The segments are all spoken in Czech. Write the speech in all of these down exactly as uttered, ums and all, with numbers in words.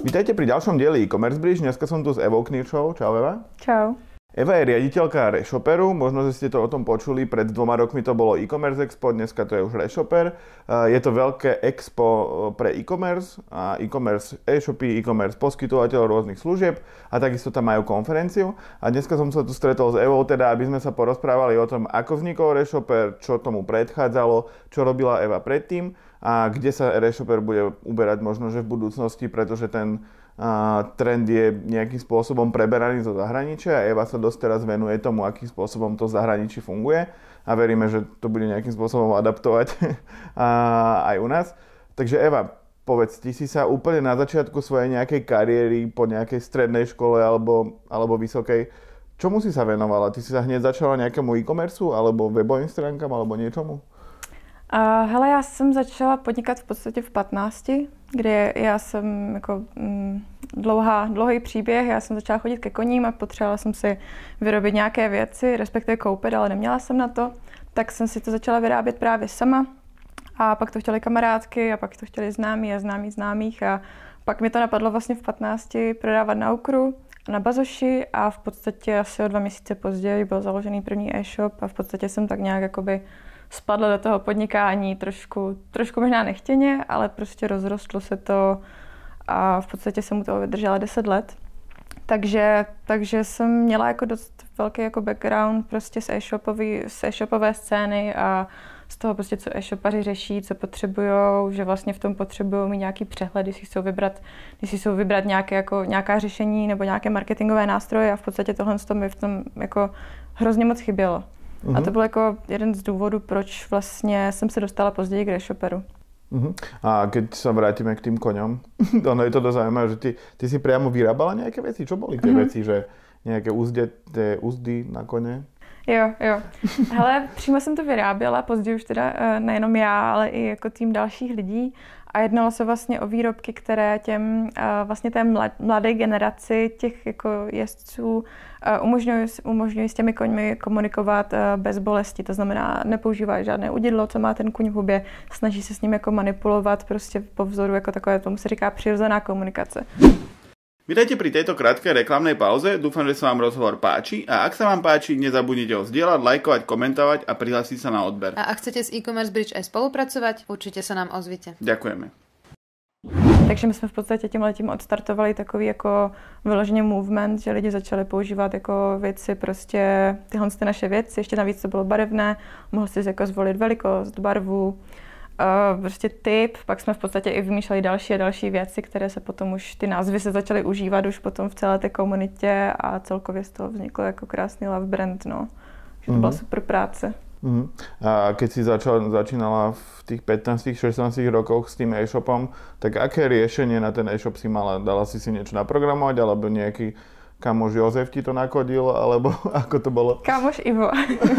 Vítajte pri ďalšom dieli e-commerce bridge. Dneska som tu s Evou Kníršovou. Čau Eva. Čau. Eva je riaditeľka Reshoperu, možno, že ste to o tom počuli, pred dvoma rokmi to bolo e-commerce expo, dneska to je už Reshoper. Je to veľké expo pre e-commerce, a e-commerce e-shopy, e-commerce poskytovateľov rôznych služieb a takisto tam majú konferenciu. A dneska som sa tu stretol s Evou, teda aby sme sa porozprávali o tom, ako vznikol Reshoper, čo tomu predchádzalo, čo robila Eva predtým a kde sa Reshoper bude uberať možno, že v budúcnosti, pretože ten a trend je nejakým spôsobom preberaný zo zahraničia a Eva sa dosť teraz venuje tomu, akým spôsobom to v zahraničí funguje a veríme, že to bude nejakým spôsobom adaptovať aj u nás. Takže Eva, povedz, ty si sa úplne na začiatku svojej nejakej kariéry po nejakej strednej škole alebo, alebo vysokej, čomu si sa venovala? Ty si sa hneď začala nejakému e-commerceu alebo webovým stránkam alebo niečomu? Uh, hele, já jsem začala podnikat v podstatě v patnácti, kdy já jsem jako mm, dlouhá, dlouhý příběh, já jsem začala chodit ke koním a potřebovala jsem si vyrobit nějaké věci, respektive koupit, ale neměla jsem na to, tak jsem si to začala vyrábět právě sama a pak to chtěli kamarádky a pak to chtěli známí a známí známých a pak mi to napadlo vlastně v patnácti prodávat na Ukru a na Bazoši a v podstatě asi o dva měsíce později byl založený první e-shop a v podstatě jsem tak nějak jakoby spadla do toho podnikání trošku, trošku možná nechtěně, ale prostě rozrostlo se to a v podstatě jsem u toho vydržela deset let. Takže, takže jsem měla jako dost velký jako background prostě z e-shopový, z e-shopové scény a z toho prostě, co e-shopaři řeší, co potřebujou, že vlastně v tom potřebují mít nějaký přehled, když si chcou vybrat, když si chcou vybrat nějaké, jako, nějaká řešení nebo nějaké marketingové nástroje a v podstatě tohle mi v tom jako hrozně moc chybělo. Uh-huh. A to byl jako jeden z důvodů, proč vlastně jsem se dostala později k Reshoperu. Uh-huh. A keď sa vrátime k tým koňom, ono je to dosť zaujímavé, že ty, ty si priamo vyrábala nejaké veci? Čo boli tie uh-huh. veci, že nejaké uzdeté uzdy na kone? Jo, jo. Hele, přímo jsem to vyráběla, později už teda nejenom já, ale i jako tým dalších lidí. A jednalo se vlastně o výrobky, které těm vlastně té mladé generaci těch jako jezdců umožňují, umožňují s těmi koňmi komunikovat bez bolesti. To znamená, nepoužívají žádné udidlo, co má ten kuň v hubě, snaží se s ním jako manipulovat prostě po vzoru jako takové, tomu se říká přirozená komunikace. Vítajte pri tejto krátkej reklamnej pauze, dúfam, že sa vám rozhovor páči a ak sa vám páči, nezabudnite ho zdieľať, lajkovať, komentovať a prihlásiť sa na odber. A ak chcete s e-commerce bridge aj spolupracovať, určite sa nám ozvite. Ďakujeme. Takže my jsme v podstatě tímhletím odstartovali takový jako vyloženě movement, že lidi začali používat jako věci, prostě tyhle ty naše věci, ještě navíc to bylo barevné, mohl si jako zvolit velikost, barvu, Uh, prostě typ, pak jsme v podstatě i vymýšleli další a další věci, které se potom už, ty názvy se začaly užívat už potom v celé té komunitě a celkově z toho vzniklo jako krásný love brand, no. Takže to mm-hmm. byla super práce. Mm-hmm. A keď si začala, začínala v tých pätnástich šestnástich rokoch s tým e-shopom, tak aké riešenie na ten e-shop si mala? Dala si si niečo naprogramovať, alebo nejaký kamoš Jozef ti to nakodil, alebo ako to bylo? Kamoš Ivo.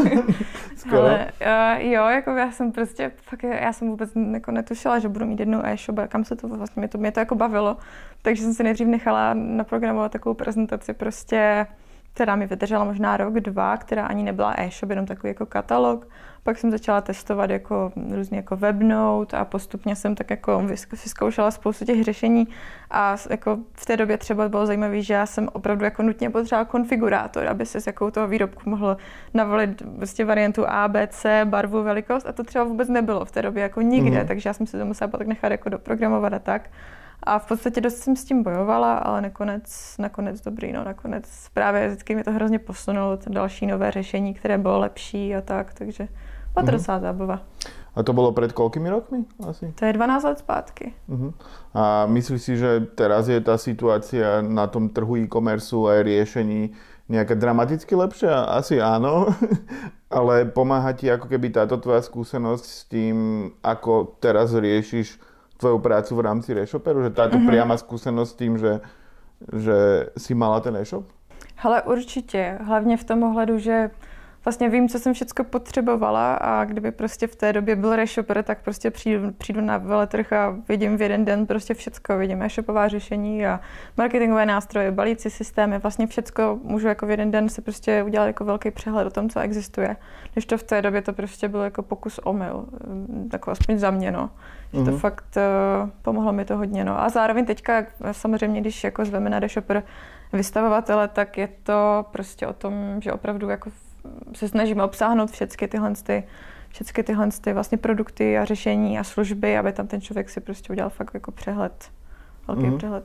Ale uh, jo, jako já jsem prostě, fakt, já jsem vůbec jako netušila, že budu mít jednou e-shop a kam se to vlastně, mě to, mě to jako bavilo. Takže jsem si nejdřív nechala naprogramovat takovou prezentaci prostě, která mi vydržela možná rok, dva, která ani nebyla e-shop, jenom takový jako katalog. Pak jsem začala testovat jako různě jako webnote a postupně jsem tak jako vyzkoušela spoustu těch řešení a jako v té době třeba bylo zajímavé, že já jsem opravdu jako nutně potřebovala konfigurátor, aby si s jakou toho výrobku mohl navolit vlastně variantu A, B, C, barvu, velikost a to třeba vůbec nebylo v té době jako nikde, mm. takže já jsem si to musela pak nechat jako doprogramovat a tak. A v podstatě dost jsem s tím bojovala, ale nakonec, nakonec dobrý, no nakonec právě vždycky mi to hrozně posunulo, další nové řešení, které bylo lepší a tak, takže byla to mm-hmm. docela zábava. A to bylo před koľkými rokmi asi? To je dvanásť let zpátky. Uh-huh. A myslíš si, že teraz je tá situácia na tom trhu e-commerceu a riešení nejaká dramaticky lepšia? Asi áno, ale pomáha ti ako keby táto tvoja skúsenosť s tým, ako teraz riešiš tvoju prácu v rámci Reshoperu? Že táto uh-huh. priama skúsenosť s tým, že, že si mala ten e-shop? Hele, určitě. Hlavně v tom ohledu, že vlastně vím, co jsem všechno potřebovala a kdyby prostě v té době byl reshopper, tak prostě přijdu, přijdu na veletrh a vidím v jeden den prostě všecko. Vidím e-shopová řešení a marketingové nástroje, balící systémy, vlastně všecko můžu jako v jeden den se prostě udělat jako velký přehled o tom, co existuje. Když to v té době to prostě byl jako pokus omyl, jako aspoň za mě, no. Že to mm-hmm. fakt uh, pomohlo mi to hodně, no. A zároveň teďka samozřejmě, když jako zveme na reshopper vystavovatele, tak je to prostě o tom, že opravdu jako se snažíme obsáhnout všechny tyhle, ty, všechny tyhle ty vlastně produkty a řešení a služby, aby tam ten člověk si prostě udělal fakt jako přehled, velký mm-hmm. přehled.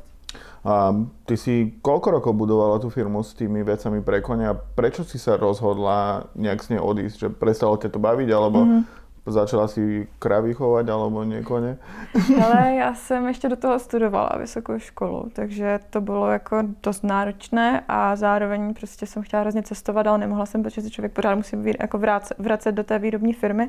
A ty si koľko rokov budovala tú firmu s tými vecami pre kone a prečo si sa rozhodla nejak z nej odísť? Že prestalo ťa to baviť, alebo mm-hmm. začala si kravy chovať, alebo nie kone? Ale já jsem ještě do toho studovala vysokou školu, takže to bylo jako dost náročné a zároveň prostě jsem chtěla hrozně cestovat, ale nemohla jsem, protože se člověk pořád musí jako vracet, vracet do té výrobní firmy.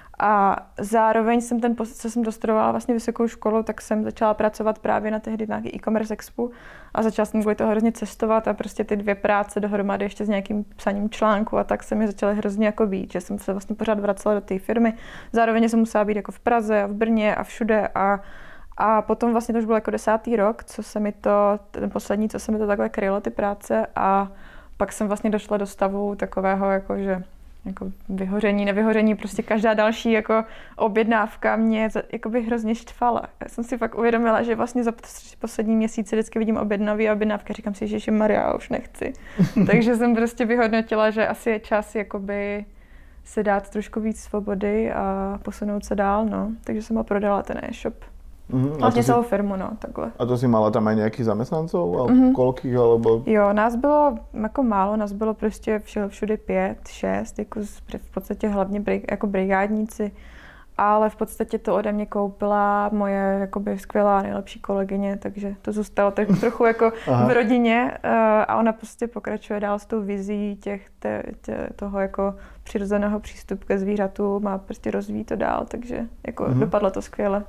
A zároveň jsem ten, co jsem dostudovala vlastně vysokou školu, tak jsem začala pracovat právě na tehdy nějaký e-commerce expo a začala jsem kvůli toho hrozně cestovat a prostě ty dvě práce dohromady ještě s nějakým psaním článku a tak se mi začaly hrozně jako být, že jsem se vlastně pořád vracela do té firmy. Zároveň jsem musela být jako v Praze a v Brně a všude a a potom vlastně to už byl jako desátý rok, co se mi to, ten poslední, co se mi to takhle krylo, ty práce a pak jsem vlastně došla do stavu takového jako, že jako vyhoření, nevyhoření, prostě každá další jako objednávka mě jakoby hrozně štvala. Já jsem si fakt uvědomila, že vlastně za poslední měsíce vždycky vidím objednavý a objednávky, říkám si, že Maria, už nechci. Takže jsem prostě vyhodnotila, že asi je čas jakoby si dát trošku víc svobody a posunout se dál, no. Takže jsem ho prodala ten e-shop. Mm-hmm. Vlastně celou si... firmu, no, takhle. A to si mala tam aj nejakých zamestnancov? Mm-hmm. Koľkých, alebo... Jo, nás bylo jako málo, nás bylo prostě všude pět, šest, jako v podstatě hlavně jako brigádníci, ale v podstatě to ode mě koupila moje jakoby skvělá nejlepší kolegyně, takže to zůstalo trochu, trochu jako v rodině a ona prostě pokračuje dál s tou vizí těch, te, te, toho jako přirozeného přístupu ke zvířatům a prostě rozvíjí to dál, takže jako mm-hmm. dopadlo to skvěle.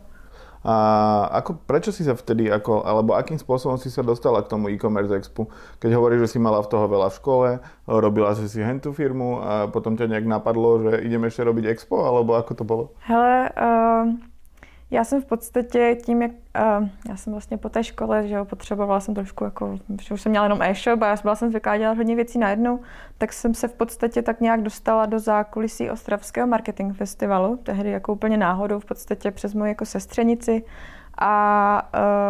A ako, prečo si sa vtedy, ako, alebo akým spôsobom si sa dostala k tomu e-commerce expu? Keď hovoríš, že si mala v toho veľa v škole, robila si si hentú firmu a potom ťa nejak napadlo, že ideme ešte robiť expo, alebo ako to bolo? Hele, uh, já jsem v podstatě tím, jak uh, já jsem vlastně po té škole, že jo, potřebovala jsem trošku jako, že už jsem měla jenom e-shop a já byla jsem zvyklá dělat hodně věcí najednou, tak jsem se v podstatě tak nějak dostala do zákulisí Ostravského marketing festivalu, tehdy jako úplně náhodou v podstatě přes moji jako sestřenici a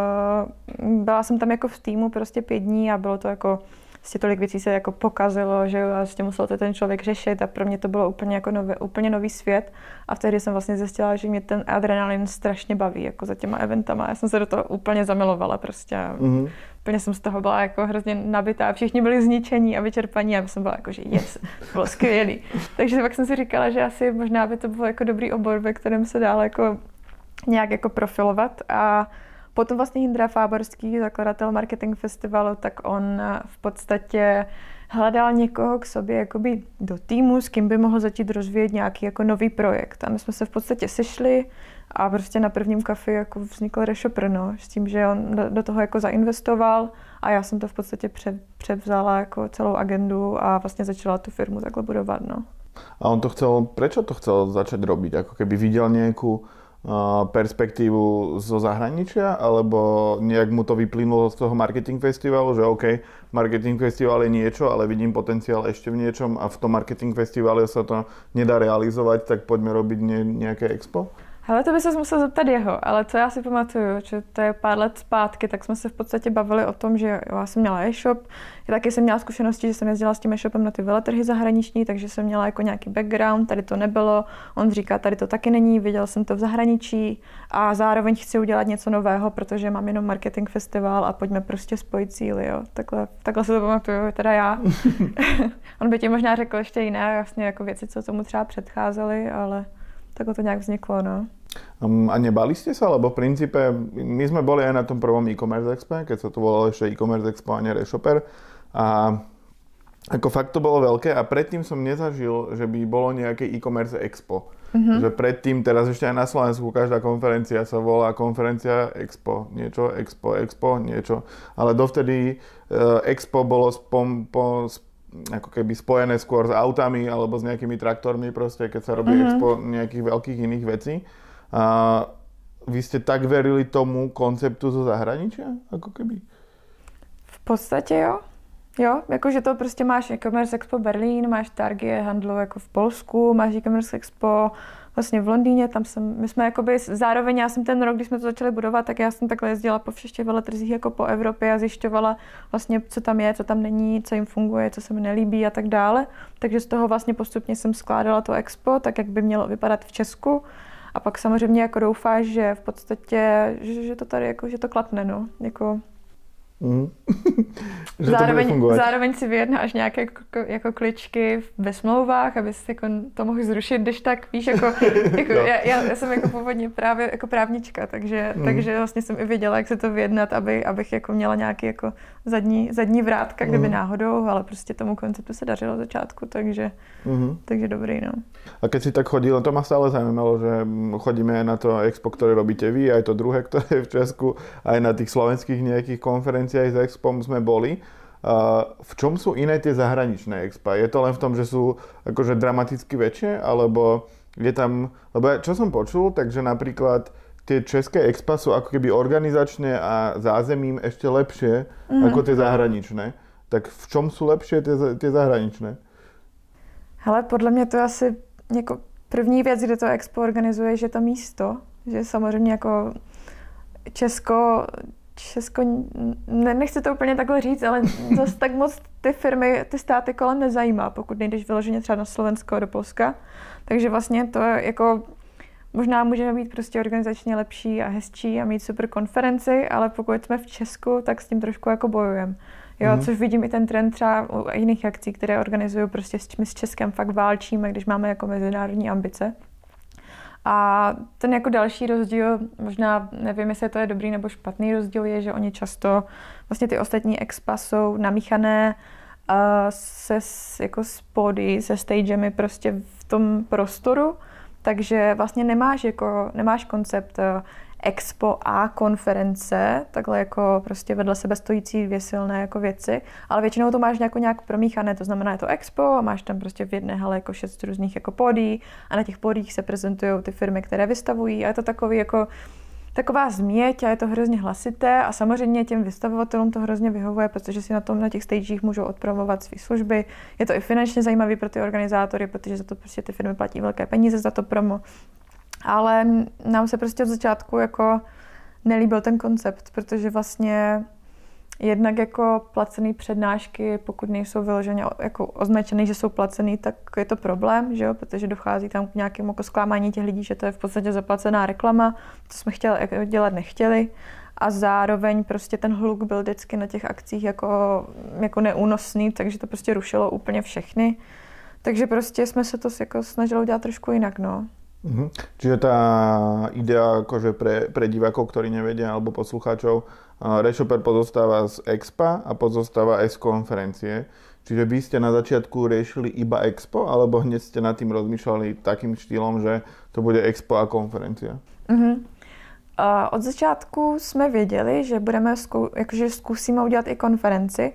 uh, byla jsem tam jako v týmu prostě pět dní a bylo to jako vlastně tolik věcí se jako pokazilo, že jo, a vlastně musel to ten člověk řešit a pro mě to bylo úplně jako nový, úplně nový svět a vtedy jsem vlastně zjistila, že mě ten adrenalin strašně baví, jako za těma eventama. Já jsem se do toho úplně zamilovala prostě. Mm-hmm. Úplně jsem z toho byla jako hrozně nabitá, všichni byli zničení a vyčerpaní a já jsem byla jako, že yes, bylo skvělý. Takže pak jsem si říkala, že asi možná by to bylo jako dobrý obor, ve kterém se dál jako nějak jako profilovat a potom vlastně Jindra Fáborský, zakladatel Marketing Festivalu, tak on v podstatě hledal někoho k sobě jakoby do týmu, s kým by mohl začít rozvíjet nějaký jako nový projekt. A my jsme se v podstatě sešli a prostě na prvním kafi jako vznikl reshopper, no, s tím, že on do, do toho jako zainvestoval a já jsem to v podstatě pře, převzala jako celou agendu a vlastně začala tu firmu takhle budovat, no. A on to chcel, prečo to chcel začať robiť? Ako keby videl nejakú perspektívu zo zahraničia, alebo nejak mu to vyplynulo z toho marketing festivalu, že OK, marketing festival je niečo, ale vidím potenciál ešte v niečom a v tom marketing festivale sa to nedá realizovať, tak poďme robiť nejaké expo? Hele, to by se musel zeptat jeho, ale co já si pamatuju, že to je pár let zpátky, tak jsme se v podstatě bavili o tom, že jo, já jsem měla e-shop, já taky jsem měla zkušenosti, že jsem jezdila s tím e-shopem na ty veletrhy zahraniční, takže jsem měla jako nějaký background, tady to nebylo, on říká, tady to taky není, viděl jsem to v zahraničí a zároveň chci udělat něco nového, protože mám jenom marketing festival a pojďme prostě spojit síly, jo. Takhle, takhle se to pamatuju, teda já. On by ti možná řekl ještě jiné vlastně jako věci, co tomu třeba předcházely, ale takhle to nějak vzniklo, no. Um, a nebali ste sa? Lebo v princípe my sme boli aj na tom prvom e-commerce expe, keď sa to volalo ešte e-commerce expo a nie reshopper. A ako fakt to bolo veľké a predtým som nezažil, že by bolo nejaké e-commerce expo. Mm-hmm. Že predtým, teraz ešte aj na Slovensku, každá konferencia sa volá konferencia expo, niečo, expo, expo, niečo. Ale dovtedy uh, expo bolo spom, po, ako keby spojené skôr s autami alebo s nejakými traktormi proste, keď sa robí mm-hmm. expo nejakých veľkých iných vecí. A vy ste tak verili tomu konceptu zo zahraničia, ako keby? V podstatě jo. Jo, jakože to prostě máš e-commerce expo Berlín, máš Target handlu jako v Polsku, máš e-commerce expo vlastně v Londýně, tam jsem, my jsme jakoby, zároveň já jsem ten rok, když jsme to začali budovat, tak já jsem takhle jezdila po všech těch veletrzích jako po Evropě a zjišťovala vlastně, co tam je, co tam není, co jim funguje, co se mi nelíbí a tak dále. Takže z toho vlastně postupně jsem skládala to expo, tak jak by mělo vypadat v Česku. A pak samozřejmě jako doufáš, že v podstatě, že, že to tady jako, že to klapne, no, jako... Mm. zároveň, zároveň si vyjednáš nějaké jako, jako kličky ve smlouvách, aby si jako to mohl zrušit, když tak víš, jako, jako já, já jsem jako původně právě jako právnička, takže, mm. takže vlastně jsem i věděla, jak se to vyjednat, aby, abych jako měla nějaký jako zadní, zadní vrátka, kdyby mm. náhodou, ale prostě tomu konceptu se dařilo od začátku, takže, mm. takže dobrý, no. A keď si tak chodila, to ma stále zaujímalo, že chodíme aj na to expo, ktoré robíte vy, aj to druhé, ktoré je v Česku, aj na tých slovenských nejakých konferenciách s expom sme boli. V čom sú iné tie zahraničné expa? Je to len v tom, že sú akože dramaticky väčšie, alebo je tam, lebo čo som počul, takže napríklad tie české expa sú ako keby organizačne a zázemím ešte lepšie mm. ako tie zahraničné. Tak v čom sú lepšie tie, tie zahraničné? Hele, podle mě to je asi jako první věc, kde to expo organizuje, že to místo, že samozřejmě jako Česko, Česko, ne, nechci to úplně takhle říct, ale zase tak moc ty firmy, ty státy kolem nezajímá, pokud nejdeš vyloženě třeba na Slovensko do Polska. Takže vlastně to je jako, možná můžeme být prostě organizačně lepší a hezčí a mít super konferenci, ale pokud jsme v Česku, tak s tím trošku jako bojujeme. Jo, mm. což vidím i ten trend třeba u jiných akcí, které organizují prostě my s Českem fakt válčíme, když máme jako mezinárodní ambice. A ten jako další rozdíl, možná nevím, jestli to je dobrý nebo špatný rozdíl, je, že oni často, vlastně ty ostatní expa jsou namíchané uh, se jako s pódy, se stagemi prostě v tom prostoru, takže vlastně nemáš jako, nemáš koncept uh, expo a konference, takhle jako prostě vedle sebe stojící dvě silné jako věci, ale většinou to máš nějak, nějak promíchané, to znamená je to expo a máš tam prostě v jedné hale jako šest různých jako pódií a na těch pódiích se prezentují ty firmy, které vystavují a je to takový jako taková změť a je to hrozně hlasité a samozřejmě těm vystavovatelům to hrozně vyhovuje, protože si na tom na těch stagech můžou odpromovat své služby. Je to i finančně zajímavý pro ty organizátory, protože za to prostě ty firmy platí velké peníze za to promo. Ale nám se prostě od začátku jako nelíbil ten koncept, protože vlastně jednak jako placený přednášky, pokud nejsou vyloženě jako označený, že jsou placený, tak je to problém, že jo? Protože dochází tam k nějakému jako zklamání těch lidí, že to je v podstatě zaplacená reklama, co jsme chtěli, dělat nechtěli. A zároveň prostě ten hluk byl vždycky na těch akcích jako, jako neúnosný, takže to prostě rušilo úplně všechny. Takže prostě jsme se to jako snažili udělat trošku jinak, no. Mhm. Čiže tá idea akože pre, pre divákov, ktorí nevedia, alebo poslucháčov, ReShopper pozostáva z expa a pozostáva aj z konferencie. Čiže vy ste na začiatku riešili iba expo, alebo hneď ste nad tým rozmýšľali takým štýlom, že to bude expo a konferencia? Mhm. Uh, od začátku jsme věděli, že budeme zkou, jakože zkusíme udělat i konferenci,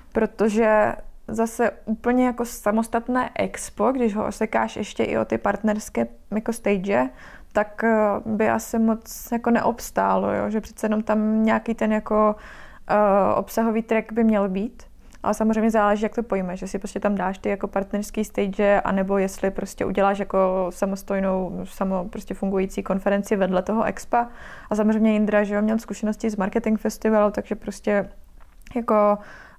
protože zase úplně jako samostatné expo, když ho osekáš ještě i o ty partnerské jako stage, tak by asi moc jako neobstálo, jo? Že přece jenom tam nějaký ten jako uh, obsahový track by měl být. Ale samozřejmě záleží, jak to pojmeš, že si prostě tam dáš ty jako partnerský stage, anebo jestli prostě uděláš jako samostojnou, samo prostě fungující konferenci vedle toho expa. A samozřejmě Jindra, že jo, měl zkušenosti z marketing festivalu, takže prostě jako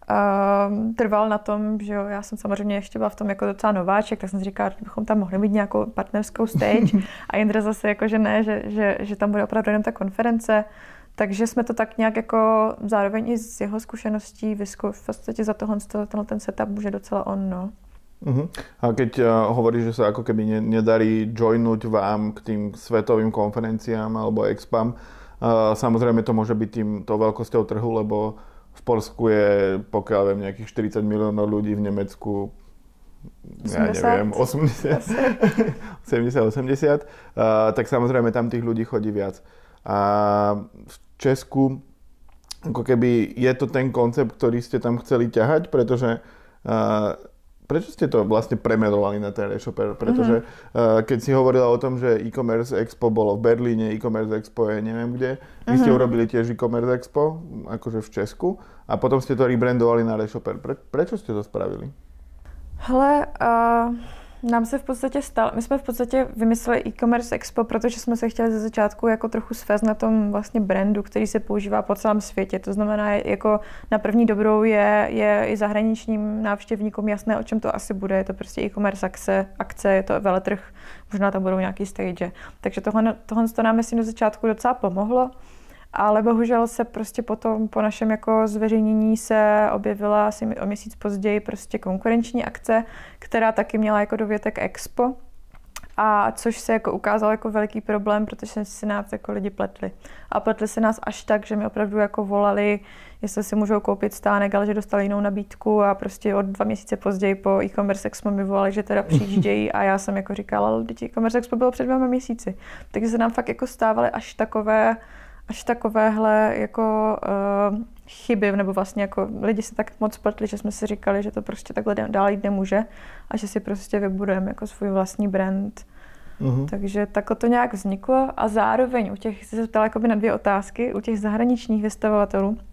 Uh, trval na tom, že jo, já jsem samozřejmě ještě byla v tom jako docela nováček, tak jsem si říkala, že bychom tam mohli mít nějakou partnerskou stage a Jindra zase jako, že ne, že, že, že tam bude opravdu jenom ta konference, takže jsme to tak nějak jako zároveň i z jeho zkušeností vyzkou, v podstatě za tohle, tohle ten setup může docela on, no. Uh-huh. A keď uh, hovoríš, že sa ako keby ne, nedarí joinúť vám k tým svetovým konferenciám alebo expam, uh, samozrejme to môže byť tým tou veľkosťou trhu, lebo v Polsku je, pokiaľ viem, nejakých štyridsať miliónov ľudí, v Nemecku, ja neviem, osemdesiat, sedemdesiat, osemdesiat, uh, tak samozrejme tam tých ľudí chodí viac. A v Česku, ako keby je to ten koncept, ktorý ste tam chceli ťahať, pretože Uh, prečo ste to vlastne premenovali na ten Reshopper? Pretože mm-hmm. uh, keď si hovorila o tom, že e-commerce expo bolo v Berlíne, e-commerce expo je neviem kde, vy mm-hmm. ste urobili tiež e-commerce expo, akože v Česku, a potom ste to rebrandovali na Reshopper. Pre, prečo ste to spravili? Hele, uh, nám se v podstatě stalo, my jsme v podstatě vymysleli e-commerce expo, protože jsme se chtěli ze začátku jako trochu svést na tom vlastně brandu, který se používá po celém světě. To znamená, jako na první dobrou je, je i zahraničním návštěvníkům jasné, o čem to asi bude. Je to prostě e-commerce akce, akce, je to veletrh, možná tam budou nějaký stage. Takže tohle, tohle to nám myslím do začátku docela pomohlo. Ale bohužel se prostě potom po našem jako zveřejnění se objevila asi o měsíc později prostě konkurenční akce, která taky měla jako dovětek expo. A což se jako ukázalo jako veliký problém, protože si nás jako lidi pletli. A pletli se nás až tak, že mi opravdu jako volali, jestli si můžou koupit stánek, ale že dostali jinou nabídku a prostě od dva měsíce později po e-commerce expo mi volali, že teda přijíždějí a já jsem jako říkala, ale e-commerce expo bylo před dvěma měsíci. Takže se nám fakt jako stávaly až takové až takovéhle jako uh, chyby, nebo vlastně jako lidi se tak moc pletli, že jsme si říkali, že to prostě takhle dál jít nemůže a že si prostě vybudujeme jako svůj vlastní brand. Uh-huh. Takže takhle to nějak vzniklo a zároveň u těch, jsi se ptala jakoby na dvě otázky, u těch zahraničních vystavovatelů. Uh,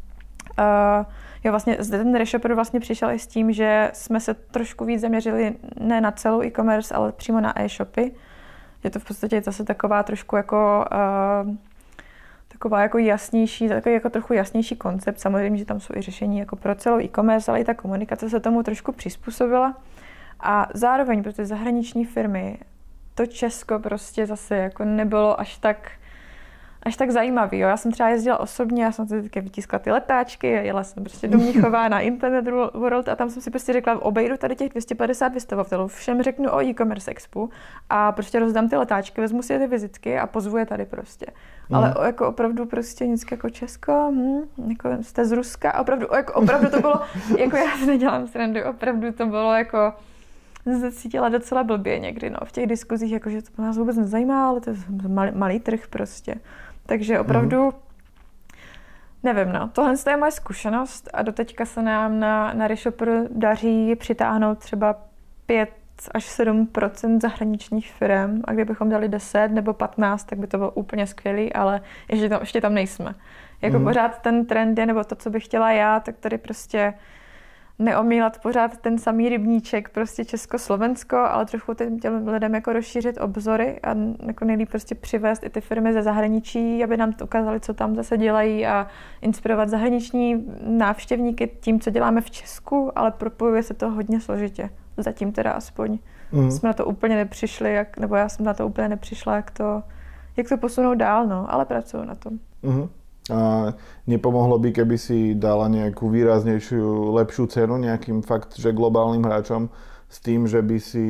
jo, vlastně zde ten Reshopper vlastně přišel i s tím, že jsme se trošku víc zaměřili ne na celou e-commerce, ale přímo na e-shopy. Je to v podstatě zase taková trošku jako uh, taková jako jasnější, takový jako trochu jasnější koncept. Samozřejmě, že tam jsou i řešení jako pro celou e-commerce, ale i ta komunikace se tomu trošku přizpůsobila. A zároveň pro ty zahraniční firmy to Česko prostě zase jako nebylo až tak, až tak zajímavý. Jo. Já jsem třeba jezdila osobně, já jsem si vždycky vytiskla ty letáčky, jela jsem prostě do Mnichová na Internet World a tam jsem si prostě řekla, obejdu tady těch dvě stě padesát vystavovatelů, všem řeknu o e-commerce expo a prostě rozdám ty letáčky, vezmu si ty vizitky a pozvu je tady prostě. Mm. Ale jako opravdu prostě nic jako Česko, hm, jako jste z Ruska, opravdu, jako opravdu to bylo, jako já si nedělám srandu, opravdu to bylo jako, jsem se cítila docela blbě někdy, no, v těch diskuzích, jakože to nás vůbec nezajímá, ale to je malý, malý trh prostě. Takže opravdu, mm. nevím, no, tohle je moje zkušenost a doteďka se nám na, na Reshopper daří přitáhnout třeba pět až sedm procent zahraničních firm a kdybychom dali deset nebo patnáct, tak by to bylo úplně skvělý, ale ještě tam, ještě tam nejsme. Jako mm. pořád ten trend je, nebo to, co bych chtěla já, tak tady prostě neomílat pořád ten samý rybníček, prostě Česko-Slovensko, ale trochu těm lidem jako rozšířit obzory a jako nejlíp prostě přivést i ty firmy ze zahraničí, aby nám to ukázali, co tam zase dělají a inspirovat zahraniční návštěvníky tím, co děláme v Česku, ale propojuje se to hodně složitě. Zatím teda aspoň. Mm. Jsme na to úplně nepřišli, jak, nebo já jsem na to úplně nepřišla, jak to, jak to posunout dál, no, ale pracuju na tom. Mm. A nepomohlo by, keby si dala nejakú výraznejšiu, lepšiu cenu nejakým fakt, že globálnym hráčom s tým, že by si,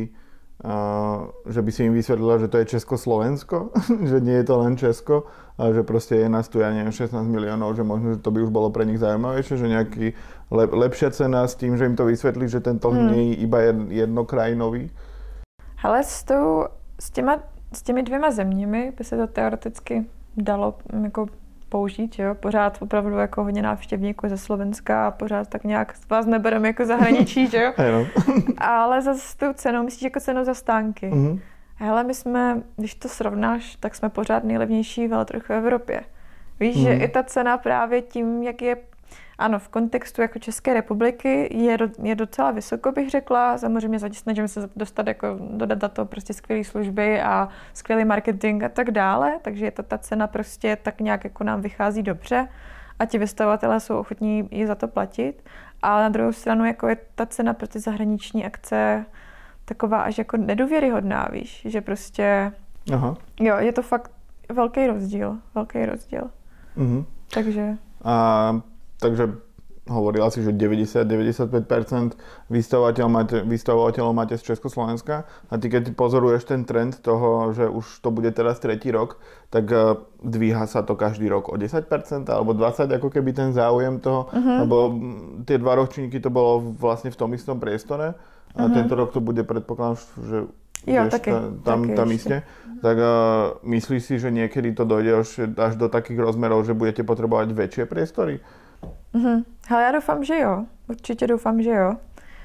uh, že by si im vysvetlila, že to je Česko-Slovensko, že nie je to len Česko, a že proste je nás tu, ja neviem, šestnásť miliónov, že možno, že to by už bolo pre nich zaujímavejšie, že nejaký lep, lepšia cena s tým, že im to vysvetlí, že ten trh hmm. nie je iba jednokrajinový. Hele, s, tou, s, těma, s těmi dvěma zeměmi by se to teoreticky dalo jako použít, jo? Pořád opravdu jako hodně návštěvníků ze Slovenska a pořád tak nějak vás nebereme jako zahraničí, že jo? Ale za tu cenu, myslíš jako cenu za stánky. Mm-hmm. Hele, my jsme, když to srovnáš, tak jsme pořád nejlevnější veletrh v Evropě. Víš, mm-hmm. že i ta cena právě tím, jak je, ano, v kontextu jako České republiky je, do, je docela vysoko, bych řekla. Samozřejmě snažíme se dostat jako dodat na to prostě skvělé služby a skvělý marketing a tak dále, takže je to ta cena prostě tak nějak jako nám vychází dobře a ti vystavovatelé jsou ochotní ji za to platit. Ale na druhou stranu jako je ta cena pro ty zahraniční akce taková až jako nedůvěryhodná, víš, že prostě, aha. jo, je to fakt velký rozdíl, velký rozdíl. Mhm. Takže. A takže hovorila si, že deväťdesiat až deväťdesiatpäť percent vystavovateľov máte, vystavovateľov máte z Československa a ty keď pozoruješ ten trend toho, že už to bude teraz tretí rok, tak dvíha sa to každý rok o desať percent alebo dvadsať percent, ako keby ten záujem toho, uh-huh. lebo tie dva ročníky to bolo vlastne v tom istom priestore a uh-huh. tento rok to bude, predpokladám, že jo, taky, tam, taky tam iste. Tak uh, myslíš si, že niekedy to dojde až, až do takých rozmerov, že budete potrebovať väčšie priestory? Mhm. Hele, já doufám, že jo. Určitě doufám, že jo.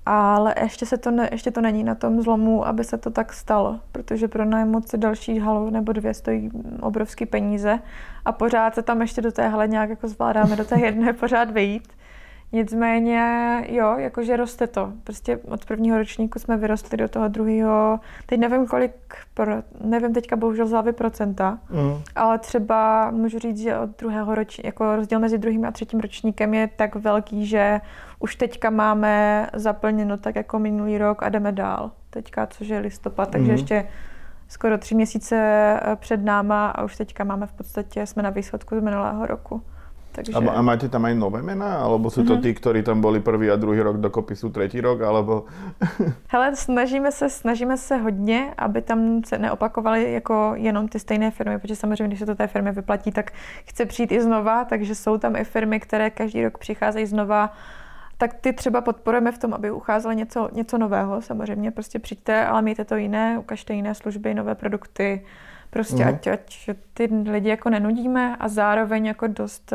Ale ještě, se to ne, ještě to není na tom zlomu, aby se to tak stalo, protože pronajmout si další halu nebo dvě stojí obrovský peníze a pořád se tam ještě do té haly nějak jako zvládáme do té jedné pořád vejít. Nicméně, jo, jakože roste to. Prostě od prvního ročníku jsme vyrostli do toho druhého, teď nevím kolik, pro, nevím teďka bohužel z hlavy procenta, mm. ale třeba můžu říct, že od druhého ročníku, jako rozdíl mezi druhým a třetím ročníkem je tak velký, že už teďka máme zaplněno tak jako minulý rok a jdeme dál. Teďka, což je listopad, takže mm. ještě skoro tři měsíce před náma a už teďka máme v podstatě, jsme na výsledku z minulého roku. Takže... A, a máte tam aj nové mená? Alebo sú to mm-hmm. tí, ktorí tam boli prvý a druhý rok dokopy sú tretí rok? Alebo... Hele, snažíme se, snažíme se hodně, aby tam se neopakovaly jako jenom ty stejné firmy, protože samozřejmě, když se to té firmě vyplatí, tak chce přijít i znova, takže jsou tam i firmy, které každý rok přicházejí znova. Tak ty třeba podporujeme v tom, aby ucházelo něco, něco nového. Samozřejmě prostě přijďte, ale mějte to jiné, ukažte jiné služby, nové produkty. Prostě mm. ať, ať ty lidi jako nenudíme a zároveň jako dost,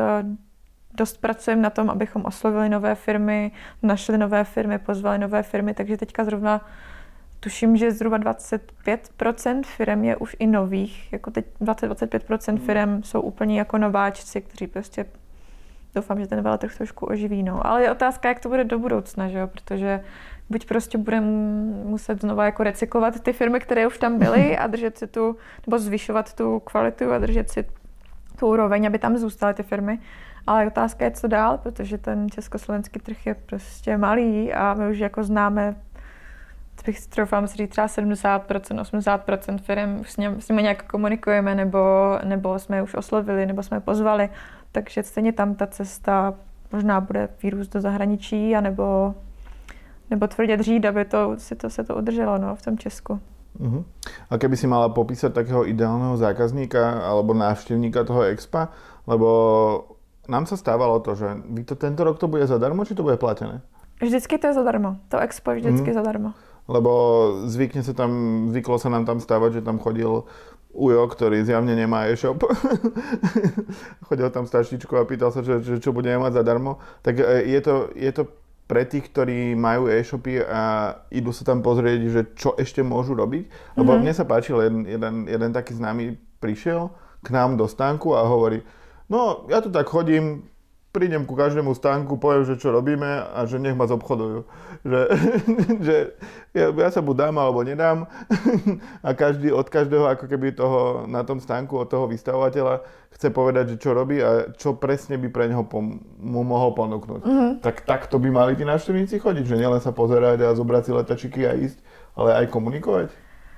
dost pracujeme na tom, abychom oslovili nové firmy, našli nové firmy, pozvali nové firmy, takže teďka zrovna tuším, že zhruba dvacet pět procent firem je už i nových, jako teď dvacet až dvacet pět procent firem jsou úplně jako nováčci, kteří prostě doufám, že ten veletrh trošku oživí, no. Ale je otázka, jak to bude do budoucna, že jo, protože buď prostě budeme muset znova jako recyklovat ty firmy, které už tam byly a držet si tu, nebo zvyšovat tu kvalitu a držet si tu úroveň, aby tam zůstaly ty firmy. Ale otázka je, co dál, protože ten československý trh je prostě malý a my už jako známe, bych troufám si říct, třeba sedmdesát procent, osmdesát procent firm, už s, ním, s nimi nějak komunikujeme, nebo, nebo jsme je už oslovili, nebo jsme je pozvali. Takže stejně tam ta cesta možná bude výrůst do zahraničí, anebo nebo tvrdě dřít, aby to, si to, se to udrželo, no, v tom Česku. Uh-huh. A keby si mala popísať takého ideálneho zákazníka alebo návštevníka toho expa, lebo nám sa stávalo to, že vy to tento rok to bude zadarmo, či to bude platené? Vždycky to je zadarmo. To expo je vždycky uh-huh. zadarmo. Lebo zvykne sa tam, zvyklo sa nám tam stávať, že tam chodil Ujo, ktorý zjavne nemá e-shop. Chodil tam s taštičkou a pýtal sa, že, že čo budeme mať zadarmo. Tak je to, je to pre tých, ktorí majú e-shopy a idú sa tam pozrieť, že čo ešte môžu robiť. Lebo mm-hmm. mne sa páčil, jeden, jeden, jeden taký známy prišiel k nám do stánku a hovorí, no ja tu tak chodím, prídem ku každému stánku, poviem, že čo robíme a že nech ma zobchodujú. Že, že ja, ja sa buď dám alebo nedám a každý od každého ako keby toho na tom stánku od toho vystavovateľa chce povedať, že čo robí a čo presne by pre neho pom- mu mohol ponúknuť. Mm-hmm. Tak takto by mali tí návštevníci chodiť, že nielen sa pozerať a zobrať si letačiky a ísť, ale aj komunikovať?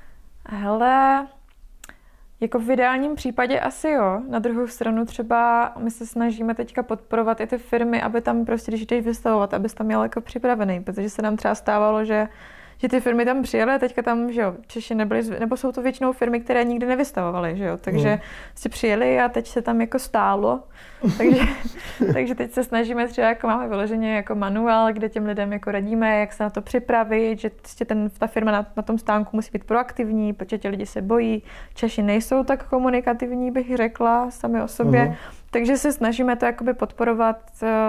Hele... Jako v ideálním případě asi jo. Na druhou stranu třeba my se snažíme teďka podporovat i ty firmy, aby tam prostě, když jdeš vystavovat, abys tam měl jako připravený, protože se nám třeba stávalo, že že ty firmy tam přijeli a teďka tam, že jo, Češi nebyli, nebo jsou to většinou firmy, které nikdy nevystavovaly, že jo, takže mm. si přijeli a teď se tam jako stálo, takže, takže teď se snažíme třeba, jako máme vyloženě jako manuál, kde těm lidem jako radíme, jak se na to připravit, že ten, ta firma na, na tom stánku musí být proaktivní, protože ti lidi se bojí, Češi nejsou tak komunikativní, bych řekla, sami o sobě, mm. takže se snažíme to jakoby podporovat,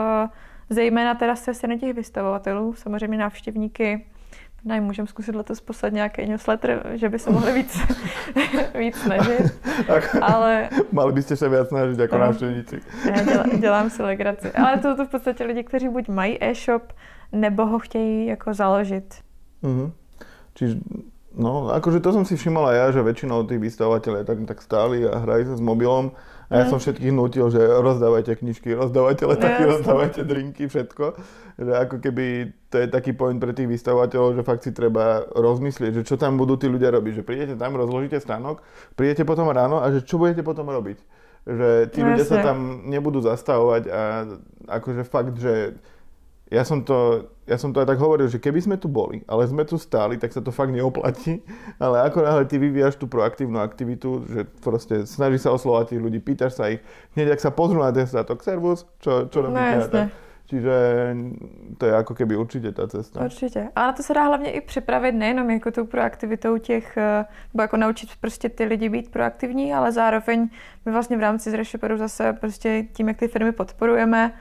zejména teda se strany těch vystavovatelů, samozřejmě návštěvníky. Ne, můžeme zkusit letos poslat nějaký newsletter, že by se mohli víc, víc snažit, ale... Mali byste se víc snažit jako návštěvníci. Já dělám, dělám si legraci. Ale to to v podstatě lidi, kteří buď mají e-shop, nebo ho chtějí jako založit. Uh-huh. Čiže, no, akože to som si všimol aj ja, že väčšinou tých vystavovateľov tak, tak stáli a hrajú sa s mobilom. A ja mm. som všetkých nutil, že rozdávajte knižky, rozdávajte letaky, yes. rozdávajte drinky, všetko. Že ako keby to je taký point pre tých vystavovateľov, že fakt si treba rozmyslieť, že čo tam budú tí ľudia robiť. Že prídete tam, rozložíte stánok, prídete potom ráno a že čo budete potom robiť. Že tí no, ľudia jasne. Sa tam nebudú zastavovať a akože fakt, že ja som to, ja som to aj tak hovoril, že keby sme tu boli, ale sme tu stáli, tak sa to fakt neoplatí. Ale ako náhle ty vyvíjaš tú proaktívnu aktivitu, že proste snažíš sa oslovať tých ľudí, pýtaš sa ich, hneď ak sa pozrú na ten statok, servus, čo, čo robíte? No, tak. Čiže to je ako keby určitě ta cesta. Určitě. A na to se dá hlavně i připravit nejenom jako tou proaktivitou těch, nebo jako naučit prostě ty lidi být proaktivní, ale zároveň my vlastně v rámci z Reshoperu zase prostě tím, jak ty firmy podporujeme,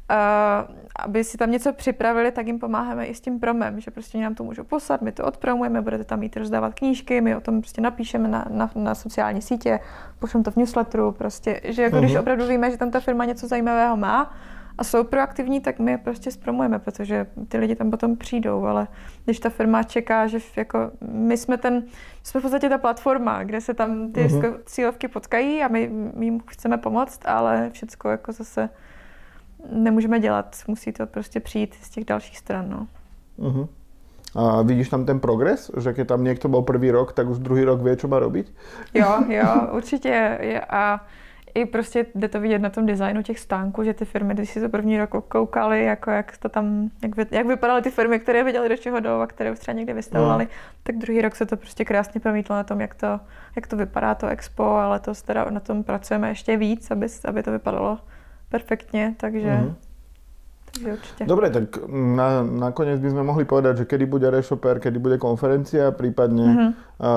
aby si tam něco připravili, tak jim pomáháme i s tím promem, že prostě nám to můžou poslat, my to odpromujeme, budete tam jít rozdávat knížky, my o tom prostě napíšeme na, na, na sociální sítě, pošleme to v newsletteru, prostě, že jako uh-huh. když opravdu víme, že tam ta firma něco zajímavého má a jsou proaktivní, tak my je prostě zpromujeme, protože ty lidi tam potom přijdou, ale když ta firma čeká, že jako my jsme ten, jsme v podstatě ta platforma, kde se tam ty uh-huh. cílovky potkají a my, my jim chceme pomoct, ale všecko jako zase nemůžeme dělat, musí to prostě přijít z těch dalších stran. No. Uh-huh. A vidíš tam ten progres? Že keď tam niekto bol prvý rok, tak už druhý rok vie, čo má robiť? Jo, jo, určitě. A i prostě jde to vidět na tom designu těch stánků, že ty firmy, když si to první rok koukali, jako jak to tam, jak, vy, jak vypadaly ty firmy, které viděli, do čeho jdou a které už třeba někde vystavovali, no. tak druhý rok se to prostě krásně promítlo na tom, jak to, jak to vypadá to expo, ale letos teda na tom pracujeme ještě víc, aby, aby to vypadalo perfektne, takže, mm-hmm. takže určite. Dobre, tak na, nakoniec by sme mohli povedať, že kedy bude Reshopper, kedy bude konferencia, prípadne mm-hmm.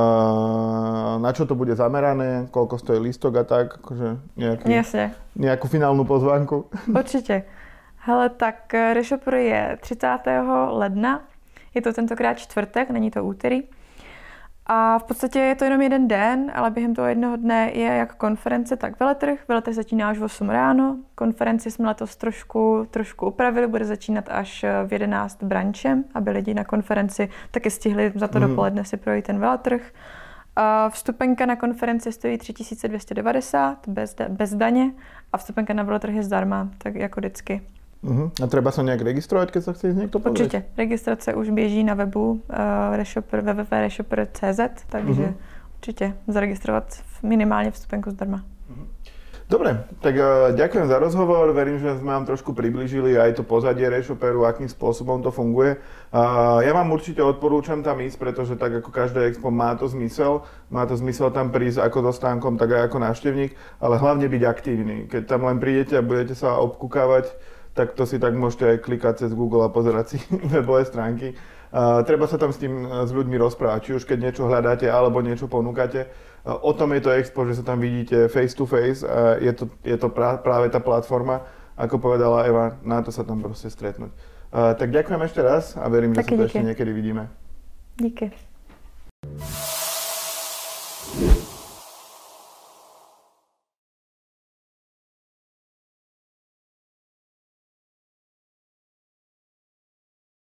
uh, na čo to bude zamerané, koľko stojí lístok a tak, akože nejaký, nejakú finálnu pozvánku. Určite. Hele, tak Reshopper je třicátého ledna, je to tentokrát čtvrtek, není to úterý. A v podstatě je to jenom jeden den, ale během toho jednoho dne je jak konference, tak veletrh. Veletrh začíná až v osm ráno. Konferenci jsme letos trošku, trošku upravili, bude začínat až v jedenáct branchem, aby lidi na konferenci taky stihli za to mm. dopoledne si projít ten veletrh. A vstupenka na konferenci stojí tři tisíce dvě stě devadesát bez, bez daně a vstupenka na veletrh je zdarma, tak jako vždycky. Uh-huh. A treba sa nejak registrovať, keď sa chce ísť niekto pozrieť? Určite. Registrace už běží na webu uh, Reshopper, w w w tečka reshopper tečka c z, takže uh-huh. určite zaregistrovat minimálne vstupenku zdarma. Uh-huh. Dobre, tak uh, ďakujem za rozhovor, verím, že sme vám trošku priblížili aj to pozadie Reshopperu, akým spôsobom to funguje. Uh, ja vám určite odporúčam tam ísť, pretože tak ako každé expo má to zmysel, má to zmysel tam prísť ako so stánkom, tak aj ako návštevník, ale hlavne byť aktívny. Keď tam len prídete a budete sa obkúkávať, tak to si tak môžete aj klikať cez Google a pozerať si webové stránky. Uh, treba sa tam s tým s ľuďmi rozprávať, či už keď niečo hľadáte alebo niečo ponúkate. Uh, o tom je to expo, že sa tam vidíte face to face a je to, je to prá, práve tá platforma, ako povedala Eva, na to sa tam proste stretnúť. Uh, tak ďakujem ešte raz a verím, že Taky sa to díky. ešte niekedy vidíme. Díky.